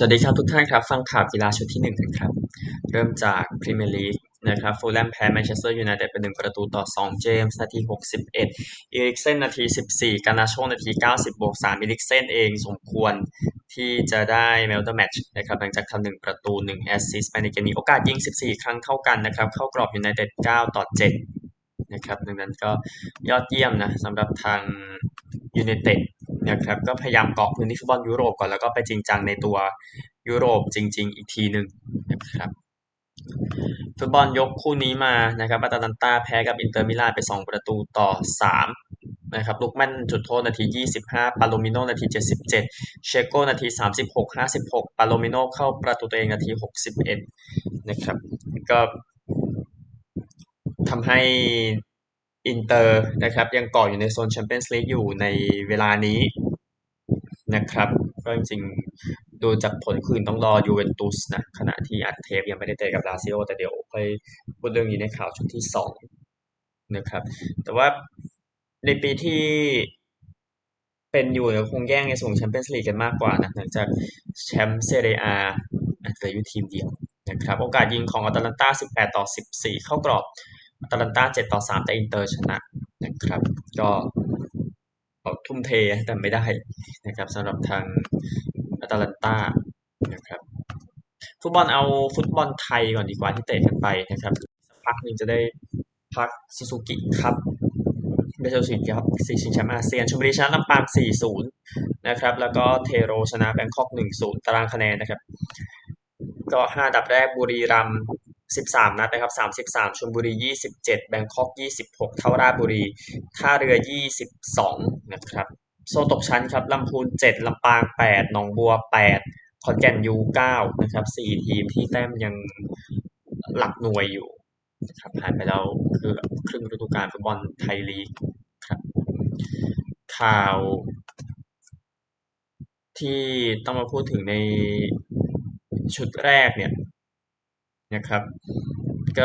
วัสดีครับทุกท่านครับฟังข่าวกีฬาชุดที่1กันครับเริ่มจากพรีเมียร์ลีกนะครับฟูลแลมแพ้แมนเชสเตอร์ยูไนเต็ดไป1-2เจมส์นาที61อีริกเซนนาที14กานาโชนาที90+3อีริกเซนเองสมควรที่จะได้แมนออฟเดอะแมตช์นะครับหลังจากทำ1 ประตู1แอสซิสต์ไปในเกมนี้โอกาสยิง14ครั้งเท่ากันนะครับเข้ากรอบยูไนเต็ด9-7นะครับดังนั้นก็ยอดเยี่ยมนะสำหรับทางยูไนเต็ดนะครับก็พยายามเกาะพื้นที่ฟุตบอลยุโรปก่อนแล้วก็ไปจริงจังในตัวยุโรปจริงๆอีกทีหนึ่งนะครับฟุตบอลยกคู่นี้มานะครับอาตาลันตาแพ้กับอินเตอร์มิลานไป2-3นะครับลูกแม่นจุดโทษนาที25ปาโลมิโนนาที77เชโกนาที36 56ปาโลมิโนเข้าประตูตัวเองนาที61นะครับก็ทำให้อินเตอร์นะครับยังเกาะอยู่ในโซนแชมเปี้ยนส์ลีกอยู่ในเวลานี้นะครับก็จริงๆดูจากผลคืนต้องรอยูเวนตุสนะขณะที่อัดเทปยังไม่ได้เตะกับลาซิโอแต่เดี๋ยวค่อยพูดเรื่องนี้ในข่าวชุดที่2นะครับแต่ว่าในปีที่เป็นอยู่เนี่ยคงแย่งในส่งแชมเปี้ยนส์ลีกกันมากกว่านะหลังจากแชมป์เซเรียอาเหลืออยู่ทีมเดียวนะครับโอกาสยิงของอาตาลันตา18-14เข้ากรอบอาตาลันตา7-3แต่อินเตอร์ชนะนะครับก็ทุ่มเทแต่ไม่ได้นะครับสำหรับทางอาตาลันตานะครับฟุตบอลเอาฟุตบอลไทยก่อนดีกว่าที่เตะกันไปนะครับสักพักหนึ่งจะได้พักซูซูกิครับไม่ใช่ซูซูกิครับซีชิงแชมป์อาเซียนชลบุรีชนะลำปาง4-0นะครับแล้วก็เทโรชนะแบงคอก1-0ตารางคะแนนนะครับก็5อันดับแรกบุรีรัมย์13นัดนะครับ33ชลบุรี27แบงคอก26เท่าราชบุรีท่าเรือ22นะครับโซนตกชั้นครับลำพูน7ลำปาง8หนองบัว8ขอนแก่นยู9นะครับ4ทีมที่แต้มยังหลักหน่วยอยู่นะครับผ่านไปแล้วคือครึ่งฤดูกาลฟุตบอลไทยลีกครับข่าวที่ต้องมาพูดถึงในชุดแรกเนี่ยนะครับก็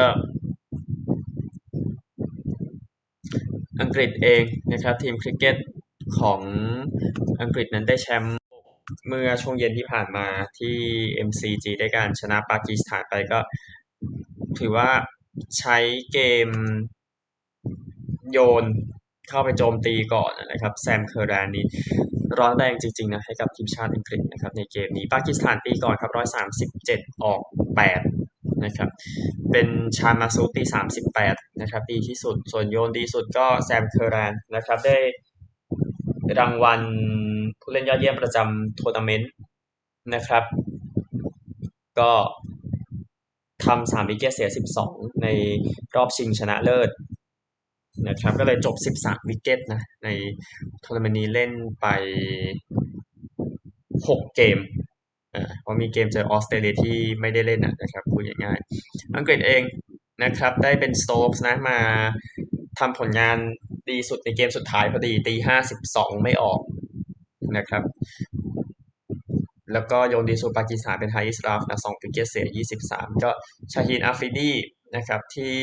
อังกฤษเองนะครับทีมคริกเก็ตของอังกฤษนั้นได้แชมป์เมื่อช่วงเย็นที่ผ่านมาที่ MCG ได้การชนะปากีสถานไปก็ถือว่าใช้เกมโยนเข้าไปโจมตีก่อนนะครับแซมเคอร์แรนนี้ร้อนแรงจริงๆนะให้กับทีมชาติอังกฤษนะครับในเกมนี้ปากีสถานตีก่อนครับ137ออก8นะครับเป็นชาญมาซูตี38นะครับดีที่สุดส่วนโยนดีสุดก็แซมเคอร์แรนนะครับได้รางวัลผู้เล่นยอดเยี่ยมประจำทัวร์นาเมนต์นะครับก็ทำ3วิกเก็ตเสีย12ในรอบชิงชนะเลิศนะครับก็เลยจบ13วิกเก็ตนะในทัวร์นาเมนต์นี้เล่นไป6เกมเพราะมีเกมเจอออสเตรเลียที่ไม่ได้เล่นนะครับพูดง่ายๆอังกฤษเองนะครับได้เป็นสโต๊กส์นะมาทำผลงานดีสุดในเกมสุดท้ายพอดีตี52ไม่ออกนะครับแล้วก็โยนดีสุดปากีสถานเป็นไฮอิสราฟนะ2วิกเก็ตเสีย23ก็ชาฮีนอาฟิดีนะครับที่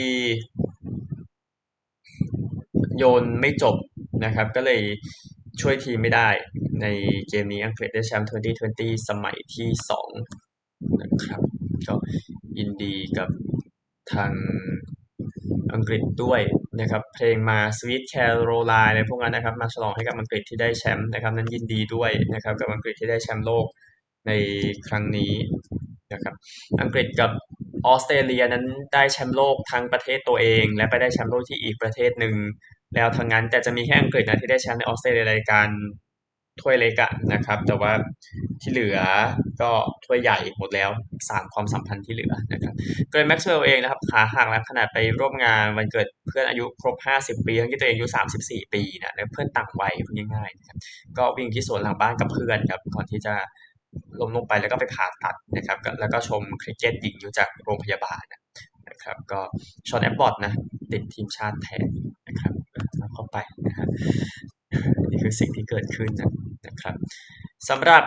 โยนไม่จบนะครับก็เลยช่วยทีมไม่ได้ในเกมนี้อังกฤษได้แชมป์2020สมัยที่2นะครับก็ยินดีกับทางอังกฤษด้วยนะครับเพลงมา Sweet Caroline อะไรพวกนั้นนะครับมาฉลองให้กับอังกฤษที่ได้แชมป์นะครับนั้นยินดีด้วยนะครับกับอังกฤษที่ได้แชมป์โลกในครั้งนี้นะครับอังกฤษกับออสเตรเลียนั้นได้แชมป์โลกทั้งประเทศตัวเองและไปได้แชมป์โลกที่อีกประเทศหนึ่งแล้วทั้งนั้นแต่จะมีแค่อังกฤษนะที่ได้แชมป์ในออสเตรเลียรายการถ้วยเล็กนะครับแต่ว่าที่เหลือก็ถ้วยใหญ่หมดแล้ว3ความสัมพันธ์ที่เหลือนะครับเกรนแม็กซ์เวลล์เองนะครับขาหักแล้วขนาดไปร่วมงานวันเกิดเพื่อนอายุครบ50ปีทั้งที่ตัวเองอายุ34ปีนะและเพื่อนต่างวัยพูดง่ายๆนะครับก็วิ่งที่สวนหลังบ้านกับเพื่อนครับก่อนที่จะล้มลงไปแล้วก็ไปผ่าตัดนะครับแล้วก็ชมคริกเก็ตหญิงอยู่จากโรงพยาบาลนะครับก็ชอนแอปบอตนะติดทีมชาติแทนนะครับเข้าไปนะครับนี่คือสิ่งที่เกิดขึ้นนะครับสำหรับ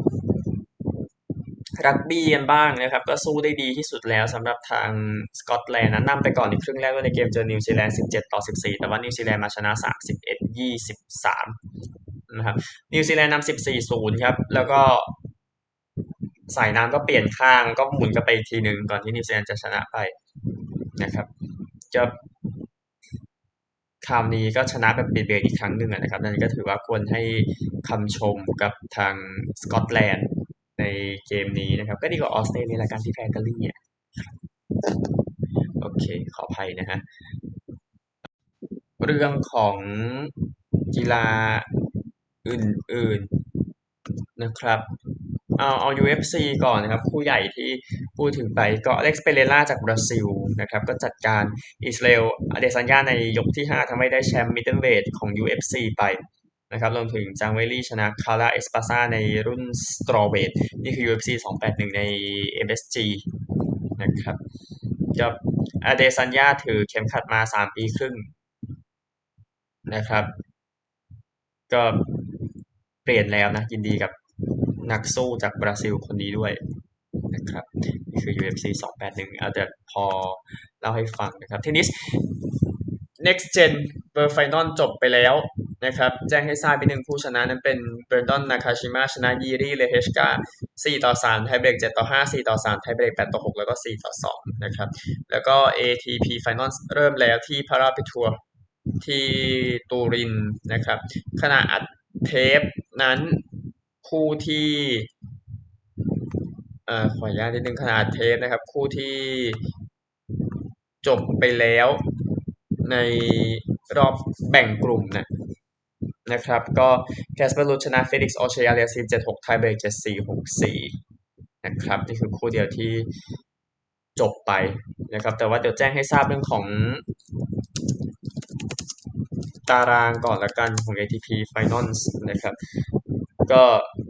รักบี้กันบ้างนะครับก็สู้ได้ดีที่สุดแล้วสำหรับทางสกอตแลนด์นะนำไปก่อนในครึ่งแรกด้วยในเกมเจอนิวซีแลนด์17-14แต่ว่านิวซีแลนด์มาชนะ31-23นะครับนิวซีแลนด์นำ14-0ครับแล้วก็สายน้ำก็เปลี่ยนข้างก็หมุนกลับไปอีกทีหนึ่งก่อนที่นิวซีแลนด์จะชนะไปนะครับจะคราวนี้ก็ชนะแบบเบียดๆอีกครั้งหนึ่งนะครับนั่นก็ถือว่าควรให้คำชมกับทางสกอตแลนด์ในเกมนี้นะครับก็ดีกว่าออสเตรเลียละกันที่แพ้อิตาลีโอเคขออภัยนะฮะเรื่องของกีฬาอื่นๆนะครับ เอา UFC ก่อนนะครับคู่ใหญ่ที่พูดถึงไปก็อเล็กซ์เปเรล่าจากบราซิลนะครับก็จัดการอิสราเอลอเดซานยาในยกที่5ทำให้ได้แชมป์มิดเดิลเวทของ UFC ไปนะครับรวมถึงจางเวลี่ชนะคาร่าเอสปาซาในรุ่นสตรอเวทนี่คือ UFC 281ใน MSG นะครับกับอเดซานยาถือเข็มขัดมา3ปีครึ่งนะครับก็เปลี่ยนแล้วนะยินดีกับนักสู้จากบราซิลคนนี้ด้วย นะครับนี่คือ UFC 281เอาแต่พอเล่าให้ฟังนะครับเทนนิส Next Gen World Final จบไปแล้วนะครับแจ้งให้ทราบไปหนึ่งผู้ชนะนั้นเป็นเบรนดอนนาคาชิมะชนะยีรีเลเฮชกา4-3ไทยเบรก7-5 4-3ไทยเบรก8-6แล้วก็4-2นะครับแล้วก็ ATP Finals เริ่มแล้วที่พาราปิทัวร์ที่ตูรินนะครับขณะอัดเทปนั้นคู่ที่ขออนุญาตนิดนึงขนาดเทสนะครับคู่ที่จบไปแล้วในรอบแบ่งกลุ่มนะครับก็แคสเปอร์รูชชนะเฟลิกซ์ออเชียเรีย7-6ไทยเบรก7-4 6-4นะครับนี่คือคู่เดียวที่จบไปนะครับแต่ว่าเดี๋ยวแจ้งให้ทราบเรื่องของตารางก่อนละกันของ ATP Finals นะครับก็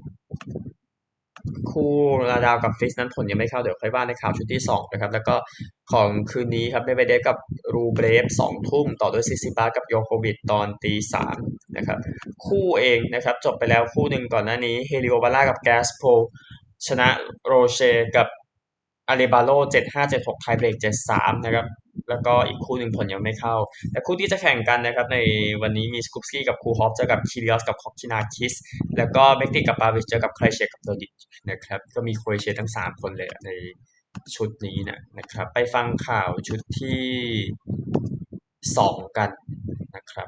คู่นาดาวกับฟิสนั้นผลยังไม่เข้าเดี๋ยวค่อยว่าในข่าวชุดที่2นะครับแล้วก็ของคืนนี้ครับเมดเวเดฟกับรูเบรฟ2 ทุ่มต่อด้วยซิซิปากับโยโควิดตอน3 นะครับคู่เองนะครับจบไปแล้วคู่หนึ่งก่อนหน้านี้เฮลิโอบาร่ากับแกสโปชนะโรเชกับอาเลบาโล7-5 7-6ไทยเบรก7-3นะครับแล้วก็อีกคู่หนึ่งผลยังไม่เข้าแต่คู่ที่จะแข่งกันนะครับในวันนี้มีสกุปสกี้กับคูฮอฟเจอกับคิริออสกับคอกคินาคิสแล้วก็เบกติกับปาวิชเจอกับใครเชียกับโดดิชนะครับก็มีโครเอเชียทั้ง3 คนเลยในชุดนี้นะครับไปฟังข่าวชุดที่2กันนะครับ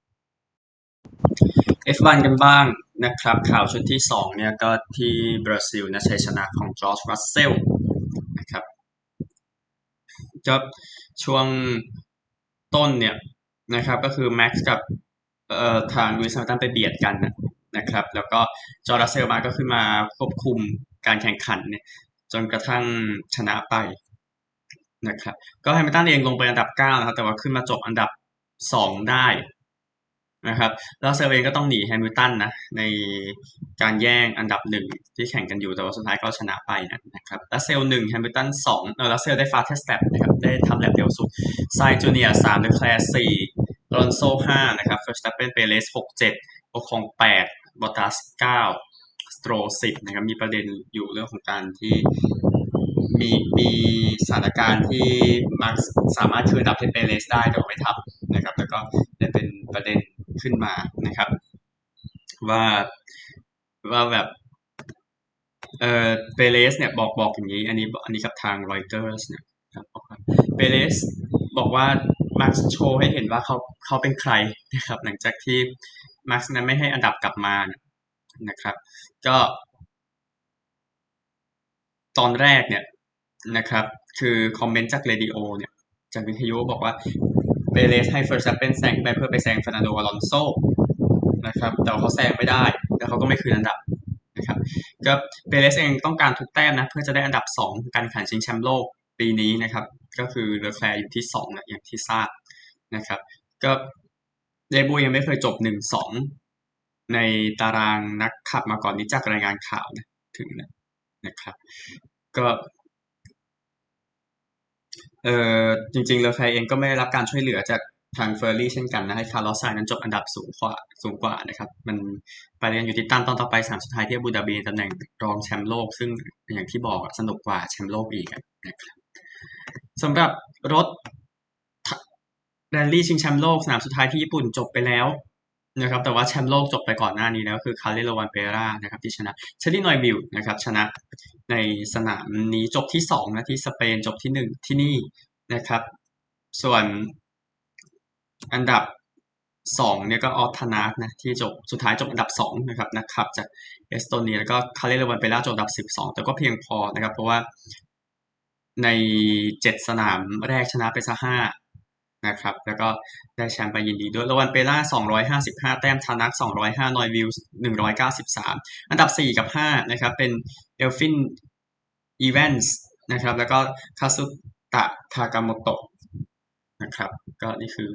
F1 กันบ้างนะครับข่าวชุดที่2เนี่ยก็ที่บราซิลนะชัยชนะของจอร์จรัสเซลนะครับก็ช่วงต้นเนี่ยนะครับก็คือแม็กซ์กับทางลุยส์แฮมิลตันไปเบียดกันนะครับแล้วก็จอร์จรัสเซลมาก็ขึ้นมาควบคุมการแข่งขันเนี่ยจนกระทั่งชนะไปนะครับก็แฮมิลตันเองลงไปอันดับ9นะครับแต่ว่าขึ้นมาจบอันดับ2ได้นะครับแล้วเซลเองก็ต้องหนีแฮมิลตันนะในการแย่งอันดับ1ที่แข่งกันอยู่แต่ว่าสุดท้ายก็ชนะไปนะครับแล้วเซล1แฮมิลตัน2แล้วเซลได้ฟาสเทสแตปนะครับได้ทำแลปเร็วสุดไซจูเนียร์3เลคแคร์4ลอนโซ5นะครับเฟอร์สตัปเปนเปเรส6-7โอคอง8บอตตัส9สโตร10นะครับมีประเด็นอยู่เรื่องของการที่มีสถานการณ์ที่มาร์คสามารถคืนอันดับให้เปเรสได้แต่ไม่ทำนะครับแล้วก็ได้เป็นประเด็นขึ้นมานะครับว่าแบบเปเรสเนี่ยบอกอย่างนี้อันนี้กับทางรอยเตอร์สเนี่ยครับเปเรสบอกว่ามาร์คโชว์ให้เห็นว่าเขาเป็นใครนะครับหลังจากที่มาร์คนั้นไม่ให้อันดับกลับมานะครับก็ตอนแรกเนี่ยนะครับคือคอมเมนต์จากเรดิโอเนี่ยจากวิทยุบอกว่าเปเรสให้เฟอร์สตัปเปนแซงไปเพื่อไปแซงเฟอร์นันโดอลอนโซนะครับแต่เขาแซงไม่ได้แล้วเขาก็ไม่คืนอันดับนะครับก็เปเรสเองต้องการทุกแต้มนะเพื่อจะได้อันดับ2การแข่งชิงแชมป์โลกปีนี้นะครับก็คือเลอแคลร์อยู่ที่2นะอย่างที่ทราบนะครับก็เดบูยังไม่เคยจบ1-2ในตารางนักขับมาก่อนนี้จากรายงานข่าวนะถึงนะครับก็จริงๆเลอแคลร์เองก็ไม่ได้รับการช่วยเหลือจากทางเฟอร์รี่เช่นกันนะให้คาร์ลอสไซน์นั้นจบอันดับสูงกว่านะครับมันไปเรียนอยู่ที่ตั้นตอนต่อไป3สุดท้ายที่อาบูดาบีตำแหน่งรองแชมป์โลกซึ่งอย่างที่บอกสนุกกว่าแชมป์โลกอีกนะครับสำหรับรถแรลลี่ชิงแชมป์โลกสนามสุดท้ายที่ญี่ปุ่นจบไปแล้วนะครับแต่ว่าแชมป์โลกจบไปก่อนหน้านี้แล้วคือคาร์เลโลวันเปร่านะครับที่ชนะเชลลี่นอยบิลนะครับชนะในสนามนี้จบที่2นะที่สเปนจบที่1ที่นี่นะครับส่วนอันดับ2เนี่ยก็ออฟธนาทนะที่จบสุดท้ายจบอันดับ2นะครับนักขับจากเอสโตเนียแล้วก็คาร์เลโลวันเปร่าจบอันดับ12แต่ก็เพียงพอนะครับเพราะว่าใน7สนามแรกชนะไปซะ5นะครับแล้วก็ได้แชมป์ไปยินดีด้วยโรวันเปล่า255แต้มทานัก205นอยวิล193อันดับ4กับ5นะครับเป็นเอลฟินอีแวนส์นะครับแล้วก็คาซุตะทากาโมโตะนะครับก็นี่คือ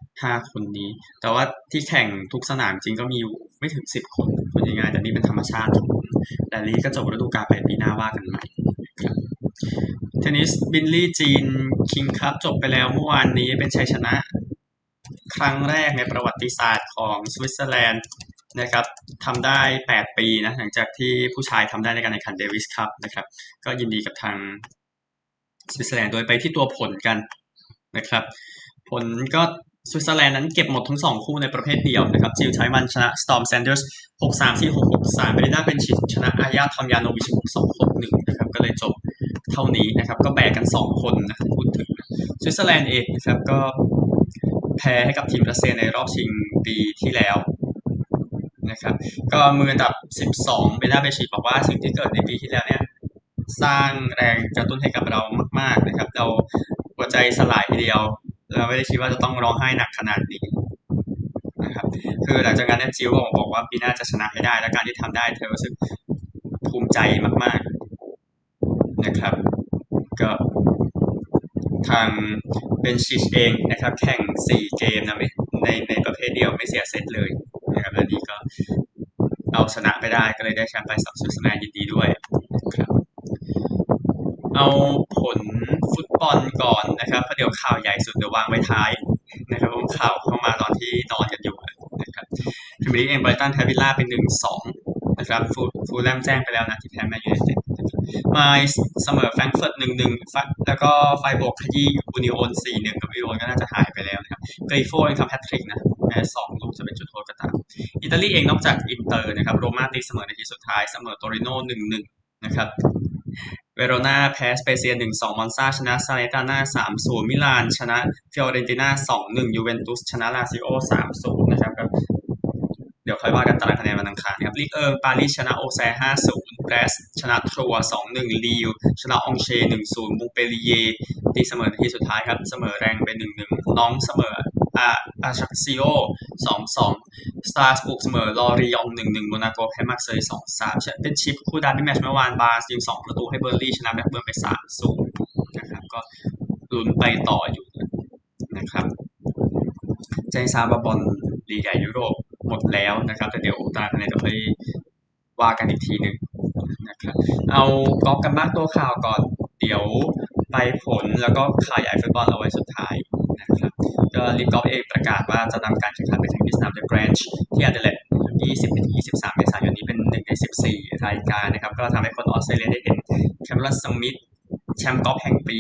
5คนนี้แต่ว่าที่แข่งทุกสนามจริงก็มีอยู่ไม่ถึง10คนพูดง่ายๆแต่นี่เป็นธรรมชาติของแรลลี่ก็จบฤดูกาลไปปีหน้าว่ากันใหม่ครับเทนนิสบิลลี่จีนคิงคัพจบไปแล้วเมื่อวานนี้เป็นชัยชนะ ครั้งแรกในประวัติศาสตร์ของสวิตเซอร์แลนด์นะครับทำได้8ปีนะหลังจากที่ผู้ชายทำได้ในการแข่งขันเดวิสคัพนะครับก็ยินดีกับทางสวิตเซอร์แลนด์โดยไปที่ตัวผลกันนะครับผลก็สวิตเซอร์แลนด์นั้นเก็บหมดทั้ง2คู่ในประเภทเดียวนะครับจิลไทมันชนะสตอร์มแซนเดอร์ส6-3ที่6-6-3เบริน่าเป็นชิตชนะอาญาทอมยานโนวิช6-2 6-1นะครับก็เลยจบเท่านี้นะครับก็แบกกัน2คนนะพูดถึงสวิตเซอร์แลนด์เองนะครับก็แพ้ให้กับทีมรัสเซียในรอบชิงปีที่แล้วนะครับก็มืออันดับ12เบน่าเบชิตบอกว่าสิ่งที่เกิดในปีที่แล้วเนี่ยสร้างแรงกระตุ้นให้กับเรามากๆนะครับเราหัวใจสลายทีเดียวเราไม่ได้คิดว่าจะต้องร้องไห้หนักขนาดนี้นะครับคือหลังจากนั้นเนี่ยจิวบอกว่าปีหน้าจะชนะให้ได้และการที่ทำได้เธอรู้สึกภูมิใจมากๆนะครับก็ทางเบนชิชเองนะครับแข่ง4เกมนะในประเภทเดียวไม่เสียเซตเลยนะครับและนี่ก็เอาชนะไปได้ก็เลยได้แชมป์ไปสำหรับสวิตเซอร์แลนด์ยินดีด้วยครับเอาผลฟุตบอลก่อนนะครับเพราะเดี๋ยวข่าวใหญ่สุดเดี๋ยววางไว้ท้ายนะครับเพราะข่าวเข้ามาตอนที่นอนกันอยู่นะครับพรีเมียร์ลีกเองไบรตันแพ้วิลล่าเป็น1-2นะครับฟูลแลมแจ้งไปแล้วนะที่แพ้แมนยูไนเต็ดมาเสมอแฟรงก์เฟิร์ต1-1แล้วก็ไฟบวกขยี้อูนิโอน4-1กับอูนิโอนก็น่าจะหายไปแล้วนะครับเกรโฟเองทำแฮตทริกนะแม้2ลูกจะเป็นจุดโทษก็ตามอิตาลีเองนอกจากอินเตอร์นะครับโรม่าตีเสมอในที่สุดท้ายเสมอโตริโน่1-1นะครับเวโรนาแพ้สเปเซีย1-2มอนซาชนะซาเลตาน่า3-0มิลานชนะฟิออเรนติน่า2-1ยูเวนตุสชนะลาซิโอ3-0นะครับเดี๋ยวค่อยว่ากันตารางคะแนนวันอังคารครับลีกปารีสชนะโอแซ5-0แบรสชนะทรัว2-1ลีลชนะองเช1-0มูเปลีเยตีเสมอในที่สุดท้ายครับเสมอแรงเป็น1-1น้องเสมออาชักซิโอ2-2สตาร์สบุกเสมอลอรียอง1-1โมนาโกแพ้มาร์เซย์2-3เป็นชิปคู่ดาร์บี้แมตช์เมื่อวานบาร์ยิง2ประตูให้เบอร์ลี่ชนะแบล็กเบิร์นไป3-0นะครับก็ลุ้นไปต่ออยู่นะครับแจ้งทราบว่าบอลลีกใหญ่ยุโรปหมดแล้วนะครับแต่เดี๋ยวตารางคะแนนเดี๋ยวค่อยว่ากันอีกทีหนึ่งนะครับเอากอล์ฟกันบ้างตัวข่าวก่อนเดี๋ยวไปผลแล้วก็ข่าวใหญ่ฟุตบอลเอาไว้สุดท้ายนะครับก็ลีกกอล์ฟเองประกาศว่าจะนำการแข่งขันไปแข่งที่สนามเดอะแกรนช์ที่แอดเลด20-23เมษายนนี้เป็น1ใน14รายการนะครับก็ทำให้คนออสเตรเลียได้เห็นแคมเมรอนสมิธแชมป์กอล์ฟแห่งปี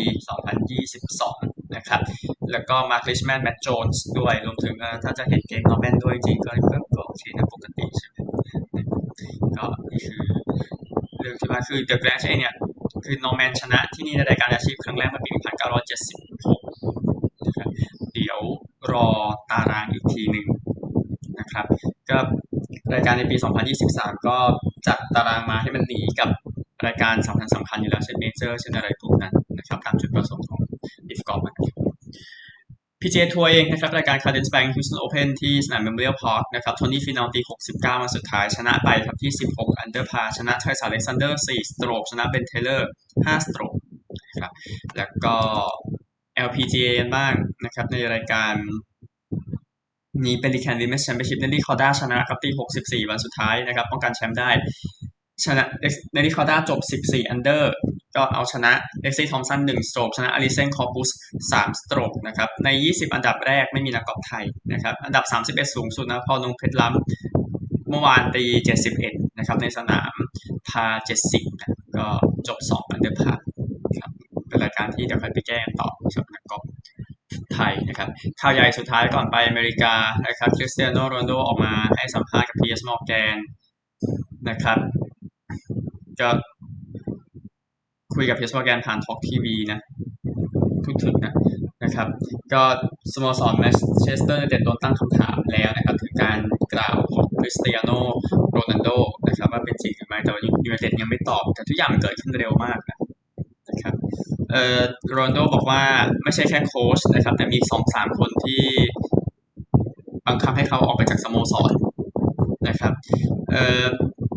2022นะครับแล้วก็มาร์คลิชแมนแมตต์โจนส์ด้วยรวมถึงถ้าจะเห็นเกมนอร์แมนด้วยจริงๆก็โอเคนะปกติใช่ไหมก็นี่คือเรื่องที่ว่าคือเดอะแกรนช์เองเนี่ยคือนอร์แมนชนะที่นี่ในรายการอาชีพครั้งแรกเมื่อปี1976นะครับเดี๋ยวรอตารางอีกทีหนึ่งนะครับก็รายการในปี2023ก็จัดตารางมาให้มันหนีกับรายการสำคัญอยู่แล้วเช่นเมเจอร์เช่นอะไรพวกนั้นนะครับตามจุดประสงค์ของดิฟกอล์ฟPGA ทัวร์เองนะครับรายการ Cadence Bank Houston Open ที่สนาม Memorial Park นะครับโทนี่ฟินาลตี69มาสุดท้ายชนะไปครับที่16อันเดอร์พาชนะไทรสันอเล็กซานเดอร์4สโตรกชนะเบนเทเลอร์5สโตรกครับแล้วก็ LPGA กันบ้างนะครับในรายการนี้เป็น Recon Women's Championship เนลลี่คอร์ด้าชนะครับตี64วันสุดท้ายนะครับป้องกันแชมป์ได้ชนะเนลลี่คอร์ด้าจบ14อันเดอร์ก็เอาชนะเล็กซี่ทอมสัน1สโตรกชนะอลิเซนคอร์ปุส3สโตรกนะครับใน20อันดับแรกไม่มีนักกอล์ฟไทยนะครับอันดับ31สูงสุดนะพอลงเพชรล้ำเมื่อวานตี71นะครับในสนามพา70นะก็จบ2อันเดอร์พาครับเป็นรายการที่เดี๋ยวค่อยไปแก้ต่อสำหรับนักกอล์ฟไทยนะครับข่าวใหญ่สุดท้ายก่อนไปอเมริกานะครับคริสเตียโนโรนัลโดออกมาให้สัมภาษณ์กับ PS Morgan นะครับก็คุยกับ PS Morgan ผ่าน Talk TV นะพูดถึงนะครับก็สโมสรแมนเชสเตอร์ยูไนเต็ดโดนตั้งคำถามแล้วนะครับถึงการกล่าวของคริสเตียโนโรนัลโดนะครับว่าเป็นจริงหรือไม่แต่ว่ายูไนเต็ดยังไม่ตอบแต่ทุกอย่างมันเกิดขึ้นเร็วมากนะครับโรนัลโดบอกว่าไม่ใช่แค่โค้ชนะครับแต่มี2-3คนที่บังคับให้เขาออกไปจากสโมสรนะครับเอ่อ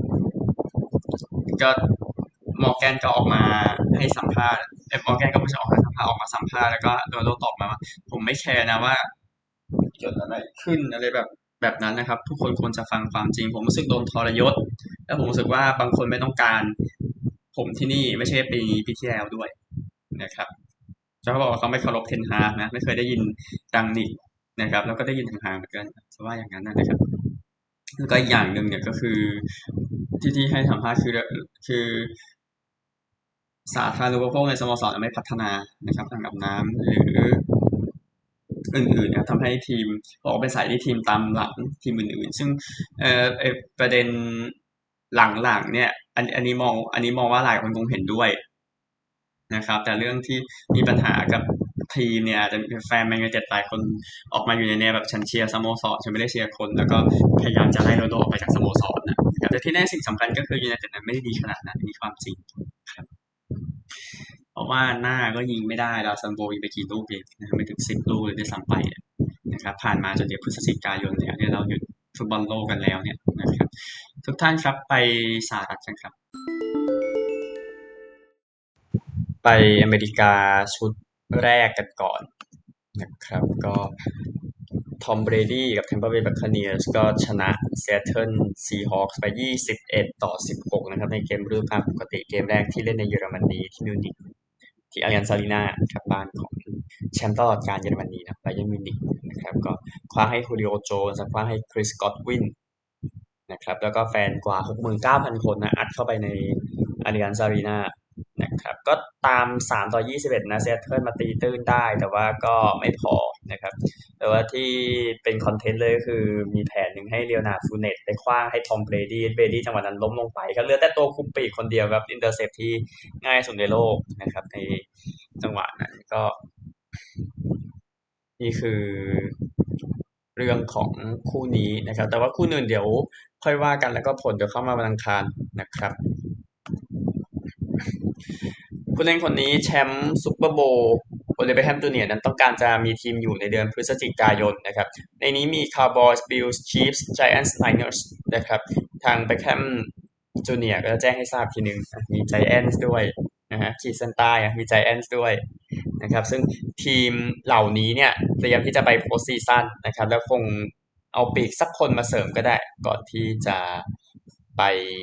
ก็มอร์แกนก็ออกมาให้สัมภาษณ์มอร์แกนก็ไม่ใช่ออกมาสัมภาษณ์ออกมาสัมภาษณ์แล้วก็โรนัลโดตอบมาว่าผมไม่แคร์นะว่าเกิดอะไรขึ้นอะไรแบบนั้นนะครับทุกคนควรจะฟังความจริงผมรู้สึกโดนทรยศและผมรู้สึกว่าบางคนไม่ต้องการผมที่นี่ไม่ใช่ปีที่แล้วด้วยนะครับเขาบอกว่าเขาไม่เคารพเทนฮากนะไม่เคยได้ยินดังนิกนะครับแล้วก็ได้ยินทางฮากเหมือนกันจะว่าอย่างนั้นนะครับแล้วก็อีกอย่างหนึ่งเนี่ยก็คือที่ให้สัมภาษณ์คือสาธารณูปโภคในสโมสรไม่พัฒนานะครับทางอาบน้ำหรืออื่นๆนะทำให้ทีมบอกเป็นสายที่ทีมตามหลังทีมอื่นๆซึ่งประเด็นหลังๆเนี่ยอันนี้มองว่าหลายคนคงเห็นด้วยนะครับแต่เรื่องที่มีปัญหากับทีมเนี่ยอาจจะมีแฟนแมนยูไนเต็ดหลายคนออกมาอยู่ในแนวแบบฉันเชียร์สโมสรฉันไม่ได้เชียร์คนแล้วก็พยายามจะไล่โรนัลโดออกไปจากสโมสรนะครับแต่ที่แน่สิ่งสำคัญก็คือยูไนเต็ดนั้นไม่ได้ดีขนาดนั้นมีความจริงครับเพราะว่าหน้าก็ยิงไม่ได้ดาวซันโบยิงไปกี่ลูกเองนะครับไม่ถึง10 ลูกเลยด้วยซ้ำไปนะครับผ่านมาจนเดือนพฤศจิกายนแล้วเนี่ยเราหยุดฟุตบอลโลกกันแล้วเนี่ยนะครับทุกท่านครับไปสหรัฐกันครับไปอเมริกาชุดแรกกันก่อนนะครับก็ทอมเบรดี้กับ Tampa Bay Buccaneers ก็ชนะ Seattle Seahawks ไป21-16นะครับในเกมฤดูกาลปกติเกมแรกที่เล่นในเยอรมนีที่มิวนิกที่อาริยันซาลีนาครับบ้านของแชมป์ตลอดกาลเยอรมนีนะไบเยิร์นมิวนิกนะครับก็คว้าให้ฮูริโอโจนส์คว้าให้คริสกอตวินนะครับแล้วก็แฟนกว่า 69,000 คนนะอัดเข้าไปในอาริยันซาลีนานะครับก็ตาม3-21นะเซตเทิลมาตีตื้นได้แต่ว่าก็ไม่พอนะครับแต่ว่าที่เป็นคอนเทนต์เลยก็คือมีแผนหนึ่งให้เลียวนาร์ดฟูเนตไปคว้างให้ทอมเบรดี้จังหวะนั้นล้มลงไปก็เหลือแต่ตัวคุมปีกคนเดียวครับอินเตอร์เซปที่ง่ายสุดในโลกนะครับในจังหวะนั้นก็นี่คือเรื่องของคู่นี้นะครับแต่ว่าคู่อื่นเดี๋ยวค่อยว่ากันแล้วก็ผลเดี๋ยวเข้ามาวันอังคารนะครับผู้เล่นคนนี้แชมป์ซุปเปอร์โบว์โอลิเวอร์แฮมจูเนียร์นั้นต้องการจะมีทีมอยู่ในเดือนพฤศจิกายนนะครับในนี้มี Cowboys Bills Chiefs Giants Niners นะครับทางเบคแฮมจูเนียร์ก็จะแจ้งให้ทราบทีหนึ่งมี Giants ด้วยนะฮะขีดเส้นใต้มี Giants ด้วยนะครับซึ่งทีมเหล่านี้เนี่ยเตรียมที่จะไปโพสต์ซีซั่นนะครับแล้วคงเอาปีกสักคนมาเสริมก็ได้ก่อนที่จะไป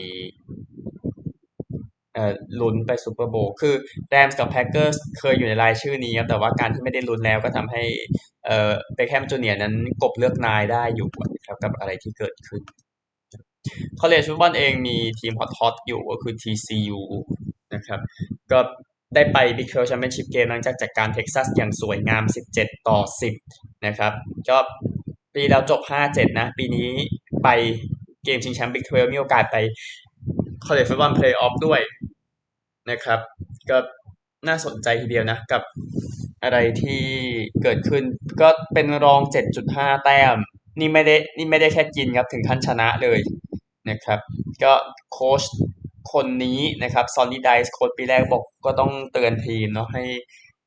ลุ้นไปซูเปอร์โบว์คือแรมส์กับแพ็กเกอร์สเคยอยู่ในรายชื่อนี้ครับแต่ว่าการที่ไม่ได้ลุ้นแล้วก็ทำให้เบคแฮมจูเนียร์นั้นกบเลือกนายได้อยู่ครับกับอะไรที่เกิดขึ้นคอลเลจฟุตบอลเองมีทีมฮอตอยู่ก็คือ TCU นะครับก็ได้ไป Big 12 Championship Game หลังจากจัดการเท็กซัสอย่างสวยงาม17-10นะครับก็ปีแล้วจบ5-7นะปีนี้ไปเกมชิงแชมป์ Big 12มีโอกาสไปคอลเลจฟุตบอลเพลย์ออฟด้วย นะครับก็น่าสนใจทีเดียวนะกับอะไรที่เกิดขึ้นก็เป็นรอง7.5แต้มนี่ไม่ได้แค่กินครับถึงขั้นชนะเลยนะครับก็โค้ชคนนี้นะครับซอนนี่ไดส์โค้ชปีแรกบอกก็ต้องเตือนทีมเนาะให้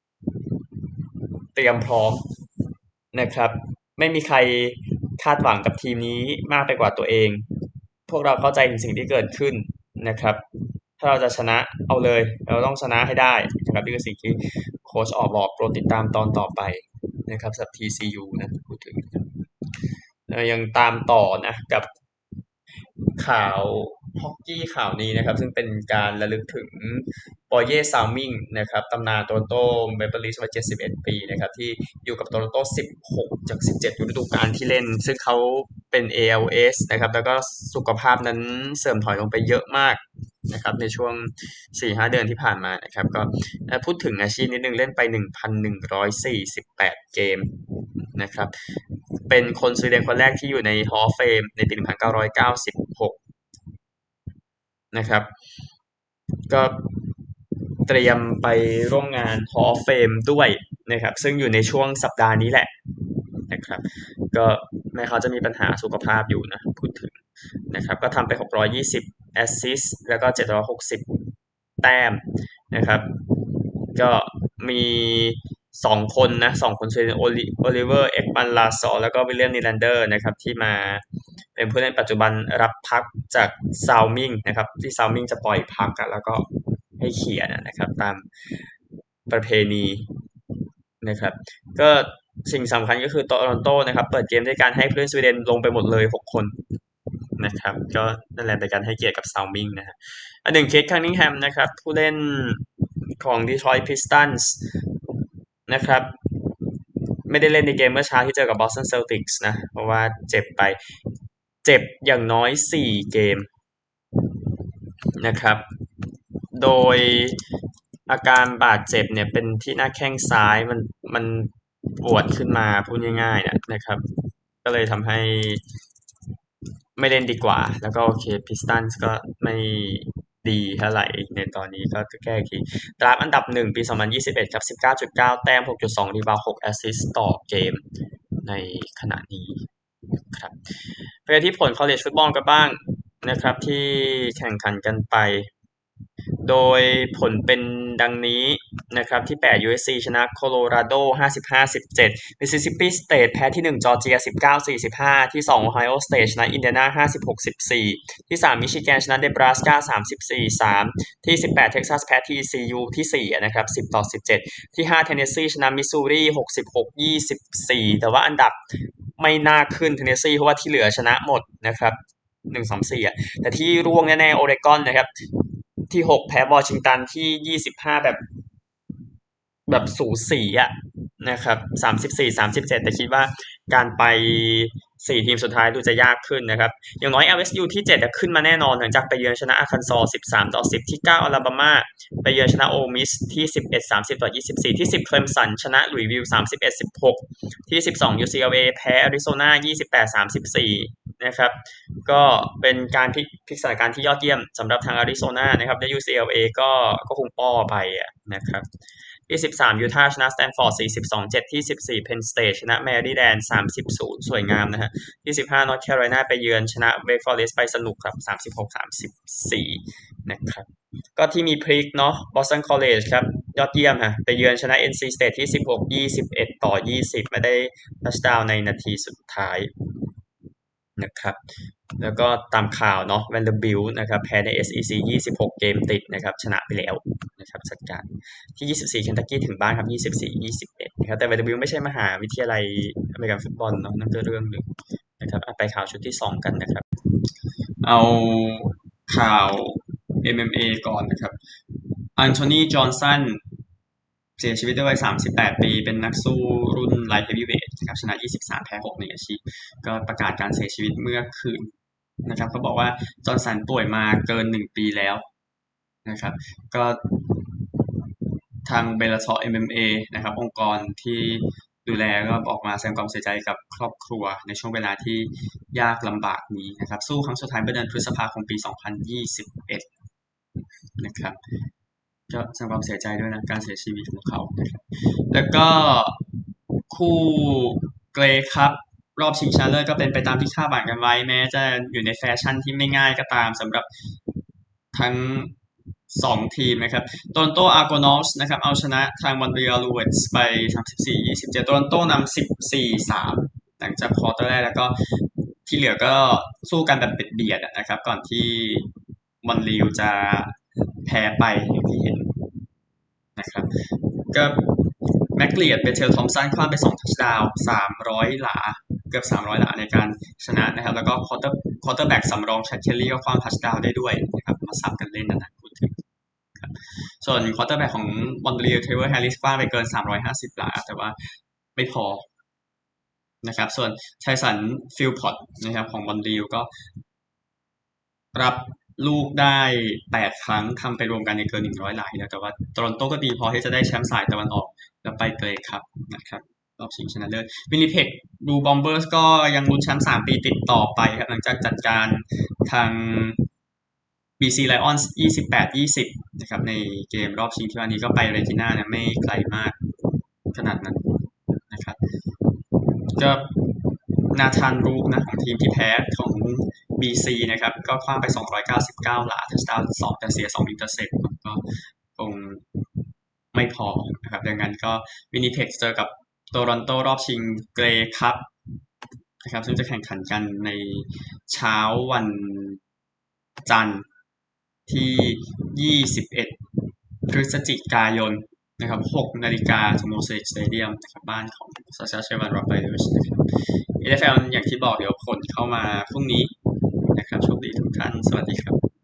เตรียมพร้อมนะครับไม่มีใครคาดหวังกับทีมนี้มากไปกว่าตัวเองพวกเราเข้าใจถึงสิ่งที่เกิดขึ้นนะครับ ถ้าเราจะชนะเอาเลยเราต้องชนะให้ได้นะครับนี่คือสิ่งที่โค้ชออกบอกโปรดติดตามตอนต่อไปนะครับสำหรับ TCU นะพูดถึงเรายังตามต่อนะกับข่าวฮอกกี้ข่าวนี้นะครับซึ่งเป็นการระลึกถึงปอร์เย่ซาวมิงนะครับตำนานโตรอนโตเมเปิลลีฟส์วัย71ปีนะครับที่อยู่กับโตรอนโต16จาก17ฤดูกาลที่เล่นซึ่งเขาเป็น ALS นะครับแล้วก็สุขภาพนั้นเสื่อมถอยลงไปเยอะมากนะครับในช่วง 4-5 เดือนที่ผ่านมานะครับก็พูดถึงอาชีพนิดนึงเล่นไป 1,148 เกมนะครับเป็นคนสวีเดนคนแรกที่อยู่ใน Hall of Fame ในปี 1996 นะครับก็เตรียมไปร่วมงาน Hall of Fame ด้วยนะครับซึ่งอยู่ในช่วงสัปดาห์นี้แหละนะครับก็แม้เขาจะมีปัญหาสุขภาพอยู่นะพูดถึงนะครับก็ทำไป620แอสซิสต์แล้วก็760แต้มนะครับก็มี2 คนนะ2 คนคือโอลิเวอร์เอ็กบันลาซอแล้วก็วิลเลียมนีแลนเดอร์นะครับที่มาเป็นผู้เล่นปัจจุบันรับพักจากซาวมิงนะครับที่ซาวมิงจะปล่อยพักแล้วก็ให้เขียนนะครับตามประเพณีนะครับก็สิ่งสำคัญก็คือโตรอนโตนะครับเปิดเกมด้วยการให้ผู้เล่นสวีเดนลงไปหมดเลย6 คนนะครับก็นั่นแหละเป็นการให้เกียรติกับซาวมิงนะฮะอันหนึ่งเคทคันนิงแฮมนะครับผู้เล่นของ Detroit Pistons นะครับไม่ได้เล่นในเกมเมื่อเช้าที่เจอกับ Boston Celtics นะเพราะว่าเจ็บไปเจ็บอย่างน้อย4 เกมนะครับโดยอาการบาดเจ็บเนี่ยเป็นที่หน้าแข้งซ้ายมันปวดขึ้นมาพูดง่ายๆนะครับก็เลยทำให้ไม่เล่นดีกว่าแล้วก็โอเคพิสตันส์ก็ไม่ดีเท่าไหร่ในตอนนี้ก็แก้อีกทีดราฟอันดับ1ปี2021ครับ19.9แต้ม 6.2 รีบาวด์ 6 แอสซิสต์ต่อเกมในขณะนี้ครับไปที่ผล college football กันบ้างนะครับที่แข่งขันกันไปโดยผลเป็นดังนี้นะครับที่8 USC ชนะโคโลราโด55-17 Mississippi State แพ้ที่1จอร์เจีย19-45ที่2 Ohio State ชนะอินเดียนา56-14ที่3มิชิแกนชนะเนบราสกา34-3ที่18 Texas แพ้ TCU ที่4นะครับ10-17ที่5 Tennessee ชนะมิสซูรี66-24แต่ว่าอันดับไม่น่าขึ้น Tennessee เพราะว่าที่เหลือชนะหมดนะครับ1-2-4แต่ที่ร่วงแน่ๆโอเรกอนนะครับที่6แพ้วอชิงตันที่25แบบสูสีนะครับ34-37แต่คิดว่าการไป4 ทีมสุดท้ายดูจะยากขึ้นนะครับอย่างน้อย LSU ที่7ขึ้นมาแน่นอนหลังจากไปเยือนชนะอาร์คันซอส13-10ที่9อลาบามาไปเยือนชนะโอมิสที่11-30-24ที่10เคลมสันชนะหลุยส์วิลล์31-16ที่12 UCLA แพ้อาริโซนา28-34นะครับก็เป็นการพลิกสถานการณ์ที่ยอดเยี่ยมสำหรับทางอาริโซนานะครับและ UCLA ก็คงป้อไปนะครับที่13ยูทาห์ชนะสแตนฟอร์ด42-7ที่14เพนสเตทชนะแมรี่แลนด์30-0สวยงามนะฮะที่15นอร์ทแคโรไลนาไปเยือนชนะเวกฟอเรสต์ไปสนุกครับ36-34นะครับก็ที่มีพลิกเนาะบอสตันคอลเลจครับยอดเยี่ยมฮะไปเยือนชนะ NC State ที่16-21-20ไม่ได้ทัชดาวน์ในนาทีสุดท้ายนะครับแล้วก็ตามข่าวเนาะ Vanderbilt นะครับแพ้ใน SEC 26 เกมติดนะครับชนะไปแล้วนะครับจัดการที่24 Kentucky ถึงบ้านครับ24-21นะครับแต่ Vanderbilt ไม่ใช่มหาวิทยาลัยอเมริกันฟุตบอลเนาะนั่นก็เรื่องหนึ่งนะครับไปข่าวชุดที่2กันนะครับเอาข่าว MMA ก่อนนะครับอันโทนีจอห์นสันเสียชีวิตด้วยวัย38 ปีเป็นนักสู้รุ่นไลท์เฮฟวีเวทนะครับชนะ23แพ้6ในอาชีพก็ประกาศการเสียชีวิตเมื่อคืนนะครับเขาบอกว่าจอห์นสันป่วยมาเกิน1 ปีแล้วนะครับก็ทางเบลลาทอร์ MMA นะครับองค์กรที่ดูแลก็บอกมาแสดงความเสียใจกับครอบครัวในช่วงเวลาที่ยากลำบากนี้นะครับสู้ครั้งสุดท้ายเมื่อเดือนพฤษภาคมปี2021นะครับก็แสดงความเสียใจด้วยนะการเสียชีวิตของเขานะครับแล้วก็คู่เกรครับรอบชิงชนะเลิศก็เป็นไปตามที่คาดหวังกันไว้แม้จะอยู่ในแฟชั่นที่ไม่ง่ายก็ตามสำหรับทั้ง2 ทีมนะครับโตรอนโตอาร์โกนอสนะครับเอาชนะทางมอนทรีออลลูเวตส์ไป34-27โตรอนโตนำ14-3หลังจากควอเตอร์แรกแล้วก็ที่เหลือก็สู้กันแบบเบียดนะครับก่อนที่มอนทรีออลจะแพ้ไปอย่างที่เห็นนะครับก็แม็กเลียดเบเทลทอมสันคว้างไป2ทัชดาวน์300 หลาเกือบ300 หลาในการชนะนะครับแล้วก็ควอเตอร์แบ็กสำรองแชคเคลลี่ก็คว้างทัชดาวน์ได้ด้วยนะครับมาสับกันเล่นนะพูดถึงส่วนควอเตอร์แบ็กของมอนทรีออลเทเวอร์แฮร์ริสคว้างไปเกิน350 หลาแต่ว่าไม่พอนะครับส่วนไทสันฟิลพอตนะครับของมอนทรีออลก็รับลูกได้8ครั้งทำไปรวมกันในเกิน100หลายนะแต่ว่าโตรอนโตก็ดีพอที่จะได้แชมป์สายตะวันออกแล้วไปเกรย์คัพนะครับรอบชิงชนะเลิศวินนิเพกดูบอมเบอร์สก็ยังลุ้นแชมป์3 ปีติดต่อไปครับหลังจากจัดการทาง BC Lions 28-20นะครับในเกมรอบชิงที่ว่านี้ก็ไปเรจิน่านะไม่ไกลมากขนาดนั้นนะครับก็นาธานรูกนะของทีมที่แพ้ของ BC นะครับก็คว้างไป299หลาทัชดาวน์2แต่เสีย2อินเตอร์เซปก็คงไม่พอนะครับดังนั้นก็วินิเพกเจอกับโตรอนโตรอบชิงเกรย์คัพนะครับซึ่งจะแข่งขันกันในเช้าวันจันทร์ที่21พฤศจิกายนนะครับ6นาฬิกาสโมสรสเตเดียมนะครับบ้านของซาชาเชวันร็อบเบอร์สนะครับ NFL อลอย่างที่บอกเดี๋ยวผลเข้ามาพรุ่งนี้นะครับโชคดีทุกท่านสวัสดีครับ